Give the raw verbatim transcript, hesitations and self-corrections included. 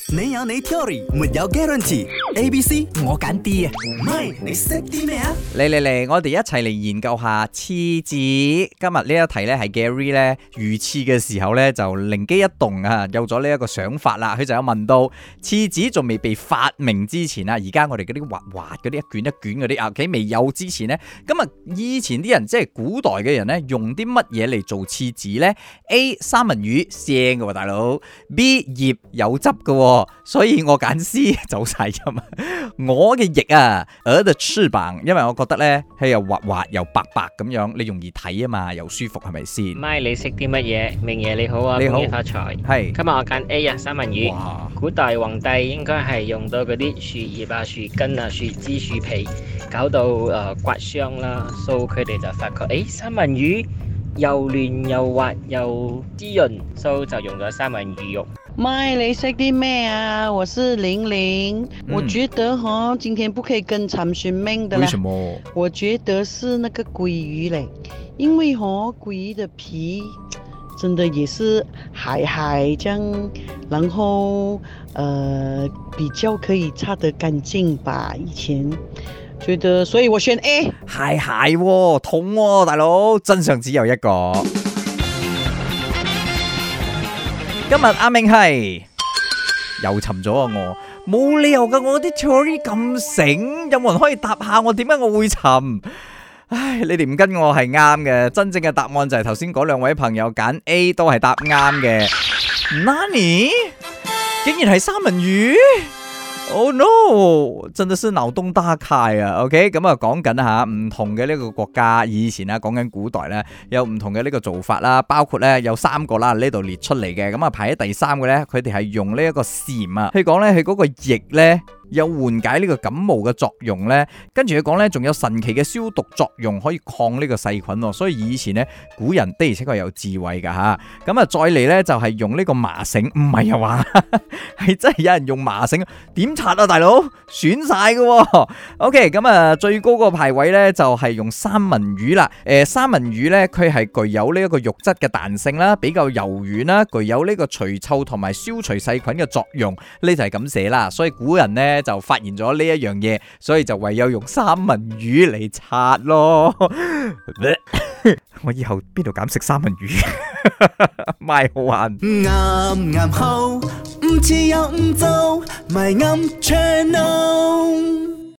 你有你 theory，沒有 guarantee。A、B、C 我揀 D 啊，唔係你識啲咩啊？ 嚟嚟嚟，我哋一齊嚟研究下廁紙。今日呢一題咧係 Gary 咧如廁嘅時候咧就靈機一動啊，有咗呢一個想法啦。佢就有問到廁紙仲未被發明之前啊，而家我哋嗰啲滑滑嗰啲一卷一卷嗰啲啊，喺未有之前咧，咁啊以前啲人即係古代嘅人咧，用啲乜嘢嚟做廁紙咧 ？A 三文魚腥嘅喎，大佬 ；B 葉有汁嘅喎。所以我揀 C 走晒音啊！我嘅翼啊，鵝的翅膀，因為我覺得咧係又滑滑又白白咁樣，你容易睇啊嘛，又舒服係咪先？ 咪你識啲乜嘢？明爺你好啊， 你好， 恭喜發財。 係今日我揀 A 啊，三文魚。 哇！ 古代皇帝應該係用到嗰啲樹葉啊、樹根啊、樹枝、樹皮，搞到誒、呃、刮傷啦，所以佢哋就發覺誒三文魚又嫩又滑又滋潤，所以就用咗三文魚肉。 咪你識啲咩啊？我是玲玲， 嗯、 我覺得哈，今天不可以跟參選命的啦。 為什麼？ 我覺得是那個鮭魚嘞，因為哈鮭魚的皮真的也是海海這樣，然後呃比較可以擦得乾淨吧。以前覺得，所以我選 A。 蟹蟹喎，痛喎，大佬，真相只有一個。今日阿明係又沉咗啊！我冇理由噶，我啲 theory 咁醒，有冇人可以答下我點解我會沉？唉，你哋唔跟我係啱嘅，真正嘅答案就係頭先嗰兩位朋友揀 A 都係答啱嘅。Nani？ 竟然係三文魚？Oh no！ 真的是腦洞大開啊 ！OK， 咁啊講緊吓唔同嘅呢個國家，以前啊講緊古代咧有唔同嘅呢個做法啦，包括咧有三個啦呢度列出嚟嘅，咁啊排喺第三個咧，佢哋係用呢一個蟬啊，佢講咧佢嗰個翼咧有緩解呢個感冒嘅作用咧，跟住佢講咧仲有神奇嘅消毒作用，可以抗呢個細菌喎，所以以前咧古人的而且確有智慧噶吓，咁啊再嚟咧就係用呢個麻繩，唔係啊話係真係有人用麻繩點擦啊大佬，損晒噶 ，OK， 咁啊最高個排位咧就係用三文魚啦，誒、呃、三文魚咧佢係具有呢一個肉質嘅彈性啦，比較柔軟啦，具有呢個除臭同埋消除細菌嘅作用，呢就係咁寫啦，所以古人咧就發現咗呢一樣嘢，所以就唯有用三文魚嚟擦咯。我以後邊度敢食三文魚？賣好玩。 啱啱好，唔似又唔做，咪啱 channel。